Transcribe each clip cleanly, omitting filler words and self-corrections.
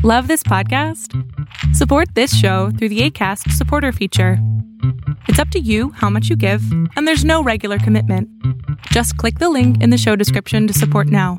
Love this podcast? Support this show through the Acast supporter feature. It's up to you how much you give, and there's no regular commitment. Just click the link in the show description to support now.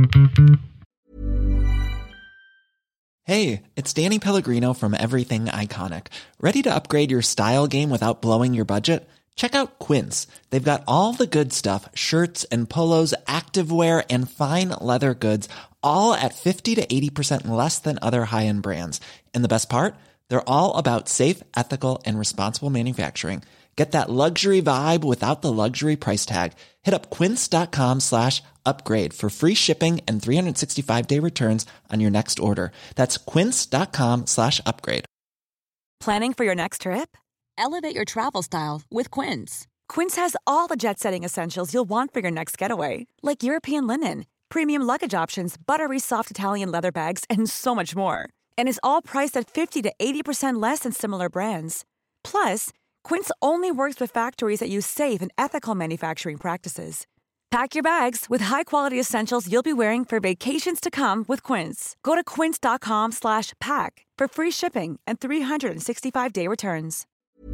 Hey, it's Danny Pellegrino from Everything Iconic. Ready to upgrade your style game without blowing your budget? Check out Quince. They've got all the good stuff, shirts and polos, activewear, and fine leather goods, all at 50 to 80% less than other high-end brands. And the best part? They're all about safe, ethical, and responsible manufacturing. Get that luxury vibe without the luxury price tag. Hit up quince.com/upgrade for free shipping and 365-day returns on your next order. That's quince.com/upgrade. Planning for your next trip? Elevate your travel style with Quince. Quince has all the jet-setting essentials you'll want for your next getaway, like European linen, premium luggage options, buttery soft Italian leather bags, and so much more. And is all priced at 50 to 80% less than similar brands. Plus, Quince only works with factories that use safe and ethical manufacturing practices. Pack your bags with high-quality essentials you'll be wearing for vacations to come with Quince. Go to quince.com/pack for free shipping and 365-day returns.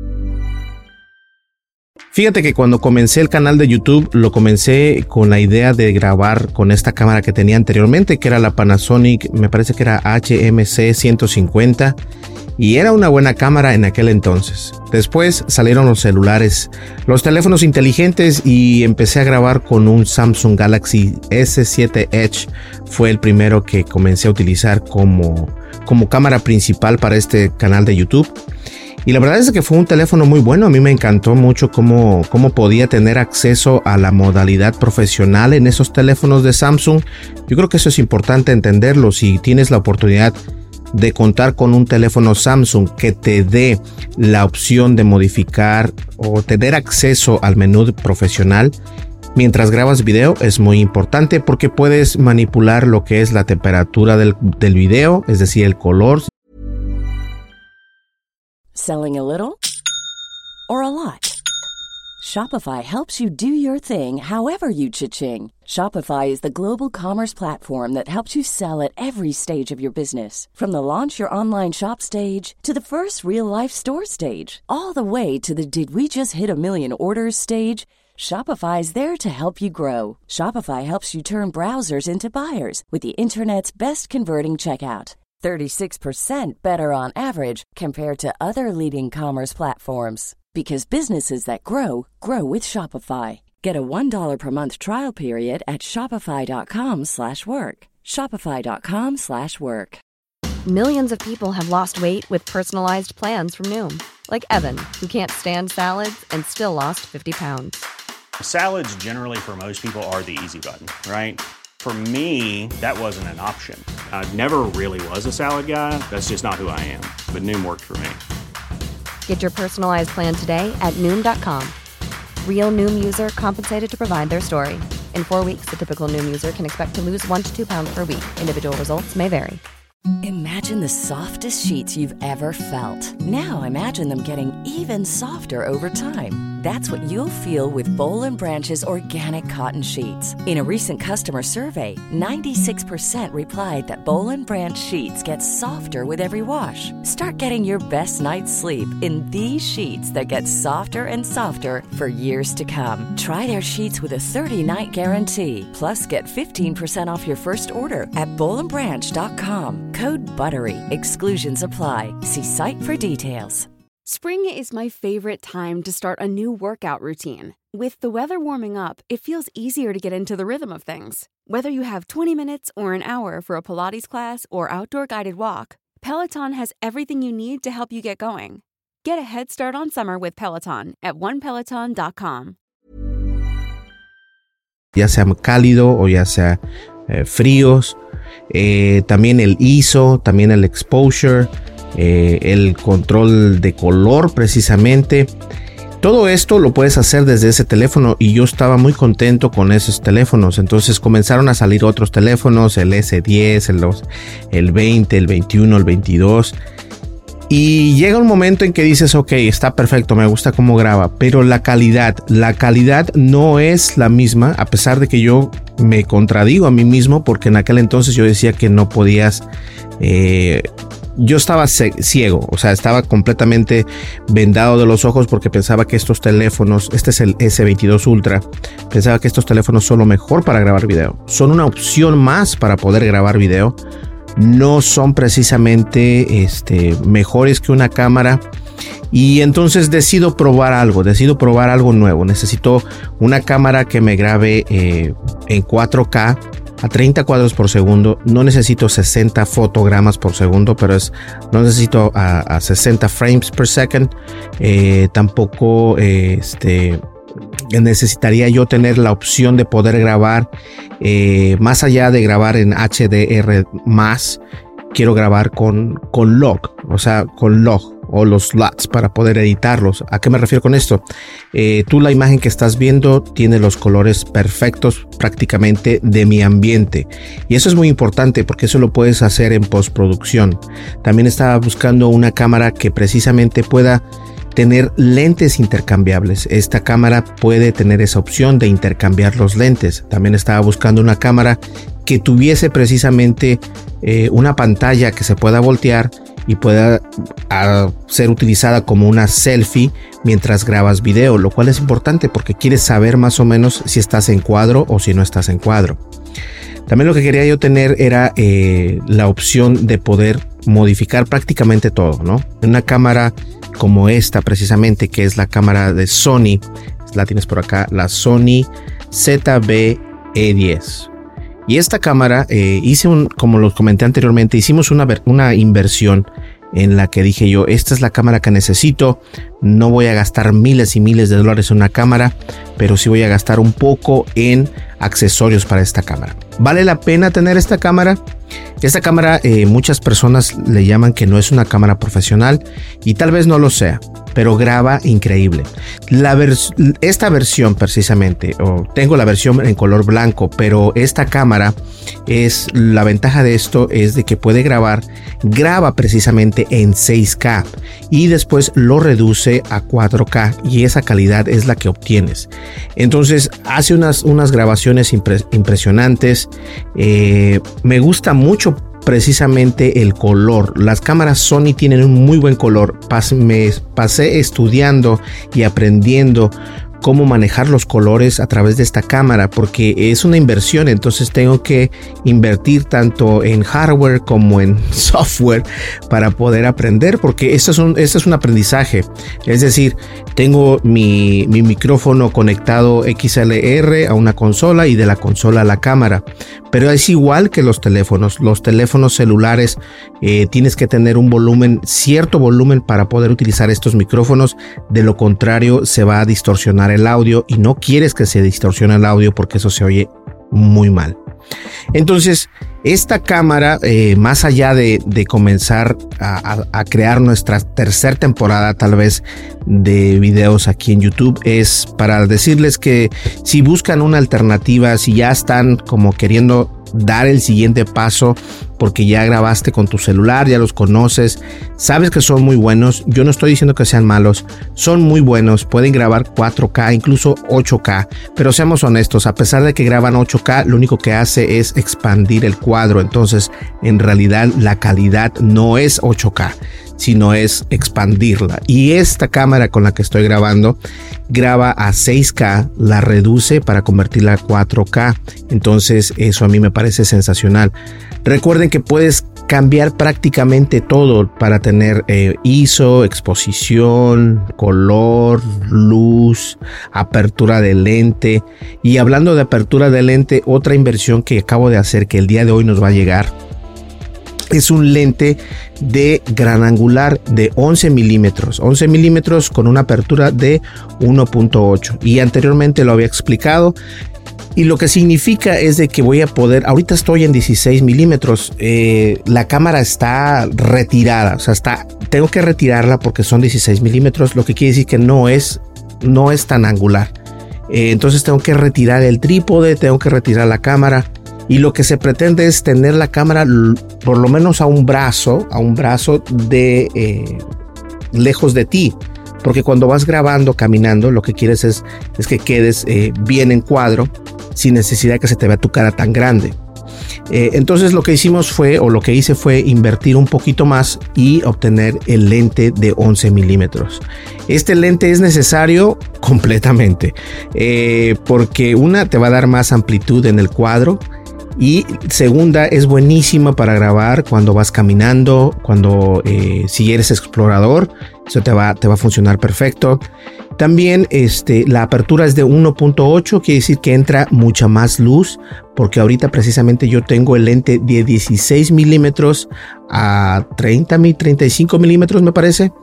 Fíjate que cuando comencé el canal de YouTube, lo comencé con la idea de grabar con esta cámara que tenía anteriormente, que era la Panasonic, me parece que era HMC 150, y era una buena cámara en aquel entonces. Después salieron los celulares, los teléfonos inteligentes, y empecé a grabar con un Samsung Galaxy S7 Edge. Fue el primero que comencé a utilizar como cámara principal para este canal de YouTube. Y la verdad es que fue un teléfono muy bueno. A mí me encantó mucho cómo podía tener acceso a la modalidad profesional en esos teléfonos de Samsung. Yo creo que eso es importante entenderlo. Si tienes la oportunidad de contar con un teléfono Samsung que te dé la opción de modificar o tener acceso al menú profesional mientras grabas video, es muy importante porque puedes manipular lo que es la temperatura del video, es decir, el color. Selling a little or a lot? Shopify helps you do your thing however you cha-ching. Shopify is the global commerce platform that helps you sell at every stage of your business. From the launch your online shop stage to the first real-life store stage, all the way to the did we just hit a million orders stage. Shopify's there to help you grow. Shopify helps you turn browsers into buyers with the internet's best converting checkout. 36% better on average compared to other leading commerce platforms. Because businesses that grow, grow with Shopify. Get a $1 per month trial period at shopify.com/work. Shopify.com/work. Millions of people have lost weight with personalized plans from Noom. Like Evan, who can't stand salads and still lost 50 pounds. Salads generally for most people are the easy button, right? For me, that wasn't an option. I never really was a salad guy. That's just not who I am. But Noom worked for me. Get your personalized plan today at Noom.com. Real Noom user compensated to provide their story. In 4 weeks, the typical Noom user can expect to lose 1 to 2 pounds per week. Individual results may vary. Imagine the softest sheets you've ever felt. Now imagine them getting even softer over time. That's what you'll feel with Boll & Branch's organic cotton sheets. In a recent customer survey, 96% replied that Boll & Branch sheets get softer with every wash. Start getting your best night's sleep in these sheets that get softer and softer for years to come. Try their sheets with a 30-night guarantee. Plus, get 15% off your first order at bollandbranch.com. Code BUTTERY. Exclusions apply. See site for details. Spring is my favorite time to start a new workout routine. With the weather warming up, it feels easier to get into the rhythm of things. Whether you have 20 minutes or an hour for a Pilates class or outdoor guided walk, Peloton has everything you need to help you get going. Get a head start on summer with Peloton at onepeloton.com. Ya sea cálido o ya sea fríos. También el ISO, también el exposure, el control de color precisamente. Todo esto lo puedes hacer desde ese teléfono y yo estaba muy contento con esos teléfonos. Entonces comenzaron a salir otros teléfonos, el S10, el 20, el 21, el 22. Y llega un momento en que dices, ok, está perfecto, me gusta cómo graba, pero la calidad no es la misma, a pesar de que yo me contradigo a mí mismo, porque en aquel entonces yo decía que no podías, yo estaba ciego, o sea, estaba completamente vendado de los ojos porque pensaba que estos teléfonos, este es el S22 Ultra, pensaba que estos teléfonos son lo mejor para grabar video, son una opción más para poder grabar video. No son precisamente mejores que una cámara, y entonces decido probar algo nuevo. Necesito una cámara que me grabe en 4K a 30 cuadros por segundo. No necesito 60 fotogramas por segundo, pero no necesito a 60 frames per second. Tampoco necesitaría yo tener la opción de poder grabar más allá de grabar en HDR+, quiero grabar con log, o sea, con log o los LUTs para poder editarlos. ¿A qué me refiero con esto? Tú la imagen que estás viendo tiene los colores perfectos prácticamente de mi ambiente, y eso es muy importante porque eso lo puedes hacer en postproducción. También estaba buscando una cámara que precisamente pueda tener lentes intercambiables. Esta cámara puede tener esa opción de intercambiar los lentes. También estaba buscando una cámara que tuviese precisamente una pantalla que se pueda voltear y pueda ser utilizada como una selfie mientras grabas video, lo cual es importante porque quieres saber más o menos si estás en cuadro o si no estás en cuadro. También lo que quería yo tener era la opción de poder modificar prácticamente todo, ¿no? Una cámara como esta precisamente, que es la cámara de Sony, la tienes por acá, la Sony ZV-E10. Y esta cámara como los comenté anteriormente, hicimos una inversión en la que dije yo, esta es la cámara que necesito. No voy a gastar miles y miles de dólares en una cámara, pero sí voy a gastar un poco en accesorios para esta cámara. ¿Vale la pena tener esta cámara? Esta cámara muchas personas le llaman que no es una cámara profesional, y tal vez no lo sea, pero graba increíble. Esta versión precisamente, tengo la versión en color blanco, pero esta cámara la ventaja de esto es de que puede graba precisamente en 6K y después lo reduce a 4K, y esa calidad es la que obtienes. Entonces hace unas grabaciones impresionantes. Me gusta mucho precisamente el color. Las cámaras Sony tienen un muy buen color. Me pasé estudiando y aprendiendo cómo manejar los colores a través de esta cámara, porque es una inversión. Entonces tengo que invertir tanto en hardware como en software para poder aprender, porque esto es un aprendizaje. Es decir, tengo mi micrófono conectado XLR a una consola y de la consola a la cámara, pero es igual que los teléfonos celulares. Tienes que tener cierto volumen para poder utilizar estos micrófonos. De lo contrario, se va a distorsionar el audio, y no quieres que se distorsione el audio porque eso se oye muy mal. Entonces esta cámara, más allá de comenzar a crear nuestra tercera temporada tal vez de videos aquí en YouTube, es para decirles que si buscan una alternativa, si ya están como queriendo dar el siguiente paso porque ya grabaste con tu celular, ya los conoces, sabes que son muy buenos. Yo no estoy diciendo que sean malos, son muy buenos, pueden grabar 4K, incluso 8K, pero seamos honestos, a pesar de que graban 8K, lo único que hace es expandir el cuadro. Entonces en realidad la calidad no es 8K, sino es expandirla. Y esta cámara con la que estoy grabando graba a 6K, la reduce para convertirla a 4K. Entonces eso a mí me parece sensacional. Recuerden que puedes cambiar prácticamente todo para tener ISO, exposición, color, luz, apertura de lente. Y hablando de apertura de lente, otra inversión que acabo de hacer, que el día de hoy nos va a llegar, es un lente de gran angular de 11 milímetros con una apertura de 1.8, y anteriormente lo había explicado. Y lo que significa es de que voy a poder, ahorita estoy en 16 milímetros, la cámara está retirada, o sea, tengo que retirarla porque son 16 milímetros, lo que quiere decir que no es tan angular. Entonces tengo que retirar el trípode, tengo que retirar la cámara, y lo que se pretende es tener la cámara por lo menos a un brazo de lejos de ti, porque cuando vas grabando caminando lo que quieres es que quedes bien en cuadro sin necesidad de que se te vea tu cara tan grande. Entonces lo que hice fue invertir un poquito más y obtener el lente de 11 milímetros. Este lente es necesario completamente porque una, te va a dar más amplitud en el cuadro, y segunda, es buenísima para grabar cuando vas caminando, si eres explorador, eso te va a funcionar perfecto. También la apertura es de 1.8, quiere decir que entra mucha más luz, porque ahorita precisamente yo tengo el lente de 16 milímetros a 35 milímetros me parece.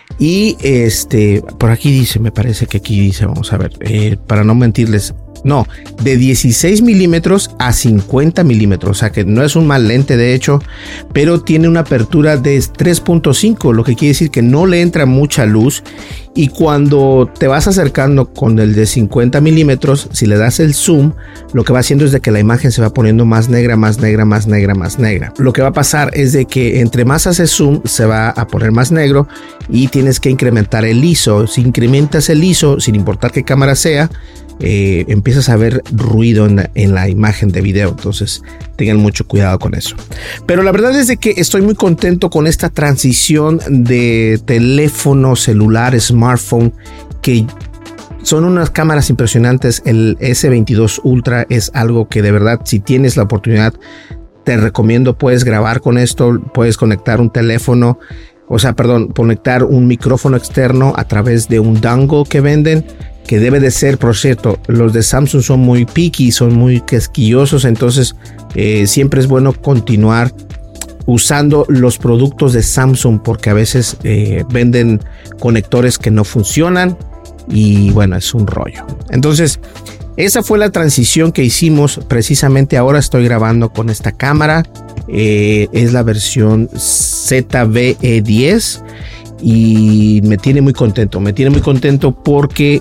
Y por aquí dice, me parece que aquí dice, vamos a ver, para no mentirles, no, de 16 milímetros a 50 milímetros, o sea que no es un mal lente de hecho, pero tiene una apertura de 3.5, lo que quiere decir que no le entra mucha luz, y cuando te vas acercando con el de 50 milímetros, si le das el zoom, lo que va haciendo es de que la imagen se va poniendo más negra, más negra, más negra, más negra. Lo que va a pasar es de que entre más haces zoom, se va a poner más negro y tienes que incrementar el ISO. Si incrementas el ISO, sin importar qué cámara sea, empiezas a ver ruido en la imagen de video, entonces tengan mucho cuidado con eso. Pero la verdad es de que estoy muy contento con esta transición de teléfono celular, smartphone, que son unas cámaras impresionantes. El S22 Ultra es algo que de verdad, si tienes la oportunidad, te recomiendo. Puedes grabar con esto, puedes conectar un teléfono, conectar un micrófono externo a través de un dongle que venden, que debe de ser, por cierto, los de Samsung son muy picky, son muy quisquillosos, entonces siempre es bueno continuar usando los productos de Samsung, porque a veces venden conectores que no funcionan y bueno, es un rollo. Entonces esa fue la transición que hicimos. Precisamente ahora estoy grabando con esta cámara, es la versión ZVE10 y me tiene muy contento porque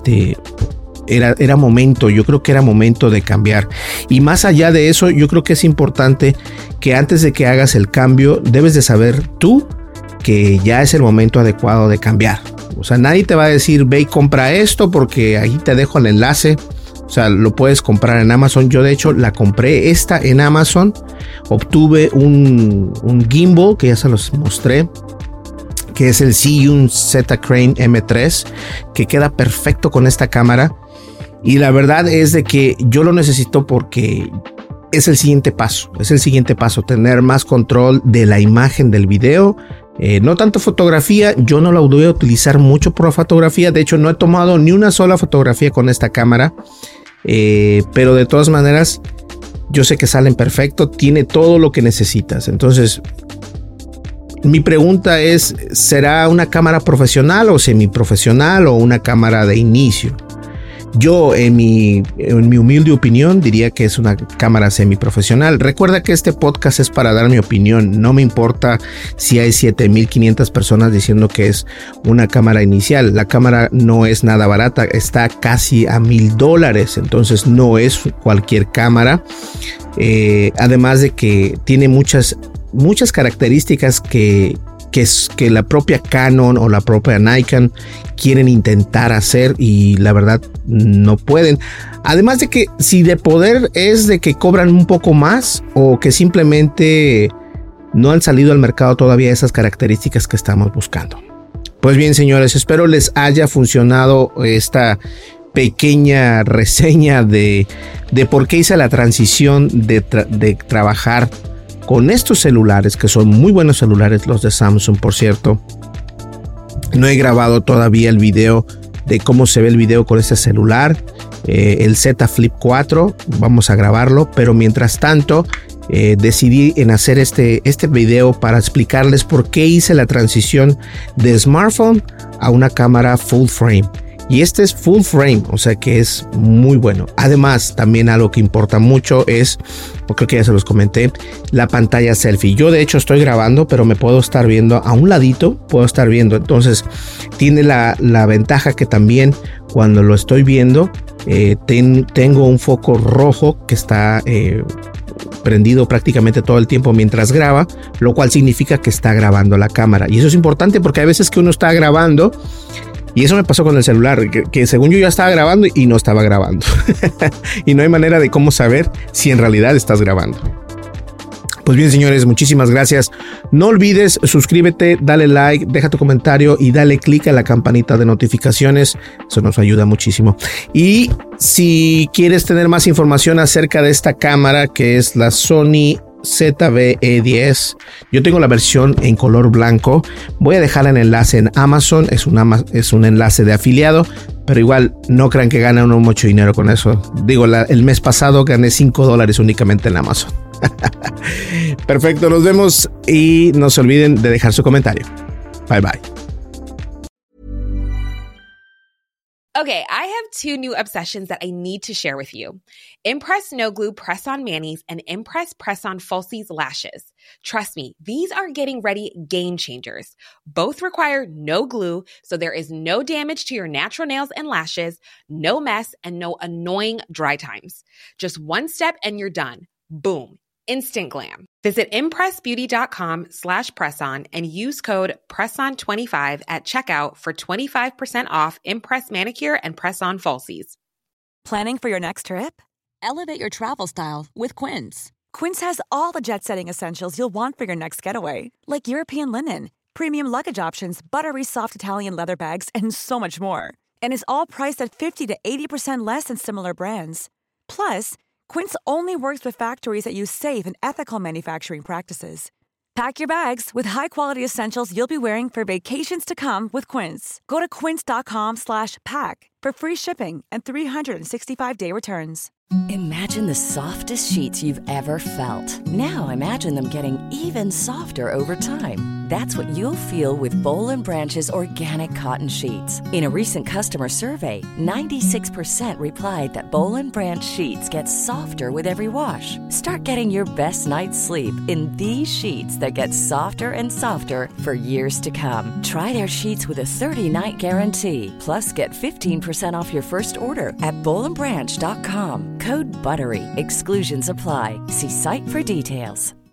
era momento, yo creo que era momento de cambiar. Y más allá de eso, yo creo que es importante que antes de que hagas el cambio, debes de saber tú que ya es el momento adecuado de cambiar. O sea, nadie te va a decir ve y compra esto, porque ahí te dejo el enlace. O sea, lo puedes comprar en Amazon. Yo de hecho la compré esta en Amazon. Obtuve un gimbal que ya se los mostré, que es el Zhiyun Z-Crane M3, que queda perfecto con esta cámara. Y la verdad es de que yo lo necesito porque es el siguiente paso. Tener más control de la imagen del video. No tanto fotografía, yo no la voy a utilizar mucho por la fotografía. De hecho, no he tomado ni una sola fotografía con esta cámara. Pero de todas maneras, yo sé que salen perfecto. Tiene todo lo que necesitas. Entonces, mi pregunta es, ¿será una cámara profesional o semiprofesional o una cámara de inicio? Yo, en mi humilde opinión, diría que es una cámara semiprofesional. Recuerda que este podcast es para dar mi opinión. No me importa si hay 7,500 personas diciendo que es una cámara inicial. La cámara no es nada barata, está casi a $1,000. Entonces no es cualquier cámara. Además de que tiene muchas características que la propia Canon o la propia Nikon quieren intentar hacer y la verdad no pueden. Además de que si de poder es de que cobran un poco más o que simplemente no han salido al mercado todavía esas características que estamos buscando. Pues bien, señores, espero les haya funcionado esta pequeña reseña de por qué hice la transición de trabajar con estos celulares, que son muy buenos celulares, los de Samsung, por cierto. No he grabado todavía el video de cómo se ve el video con este celular, el Z Flip 4, vamos a grabarlo, pero mientras tanto decidí en hacer este video para explicarles por qué hice la transición de smartphone a una cámara full frame. Y este es full frame, o sea que es muy bueno. Además, también algo que importa mucho es, creo que ya se los comenté, la pantalla selfie. Yo de hecho estoy grabando, pero me puedo estar viendo a un ladito, Entonces, tiene la ventaja que también cuando lo estoy viendo, Tengo un foco rojo que está prendido prácticamente todo el tiempo mientras graba, lo cual significa que está grabando la cámara. Y eso es importante porque hay veces que uno está grabando, y eso me pasó con el celular, que según yo ya estaba grabando y no estaba grabando. Y no hay manera de cómo saber si en realidad estás grabando. Pues bien, señores, muchísimas gracias. No olvides, suscríbete, dale like, deja tu comentario y dale click a la campanita de notificaciones. Eso nos ayuda muchísimo. Y si quieres tener más información acerca de esta cámara, que es la Sony ZV-E10, yo tengo la versión en color blanco. Voy a dejar el enlace en Amazon. Es un enlace de afiliado, pero igual no crean que gana uno mucho dinero con eso. Digo, el mes pasado gané $5 únicamente en Amazon. Perfecto, nos vemos y no se olviden de dejar su comentario. Bye bye. Okay, I have two new obsessions that I need to share with you. Impress No Glue Press-On Manis and Impress Press-On Falsies Lashes. Trust me, these are getting ready game changers. Both require no glue, so there is no damage to your natural nails and lashes, no mess, and no annoying dry times. Just one step and you're done. Boom. Instant glam. Visit impressbeauty.com/presson and use code PRESSON25 at checkout for 25% off Impress Manicure and Press-On Falsies. Planning for your next trip? Elevate your travel style with Quince. Quince has all the jet-setting essentials you'll want for your next getaway, like European linen, premium luggage options, buttery soft Italian leather bags, and so much more. And is all priced at 50 to 80% less than similar brands. Plus, Quince only works with factories that use safe and ethical manufacturing practices. Pack your bags with high-quality essentials you'll be wearing for vacations to come with Quince. Go to quince.com/pack for free shipping and 365-day returns. Imagine the softest sheets you've ever felt. Now imagine them getting even softer over time. That's what you'll feel with Boll & Branch's organic cotton sheets. In a recent customer survey, 96% replied that Boll & Branch sheets get softer with every wash. Start getting your best night's sleep in these sheets that get softer and softer for years to come. Try their sheets with a 30-night guarantee. Plus, get 15% off your first order at bollandbranch.com. Code BUTTERY. Exclusions apply. See site for details.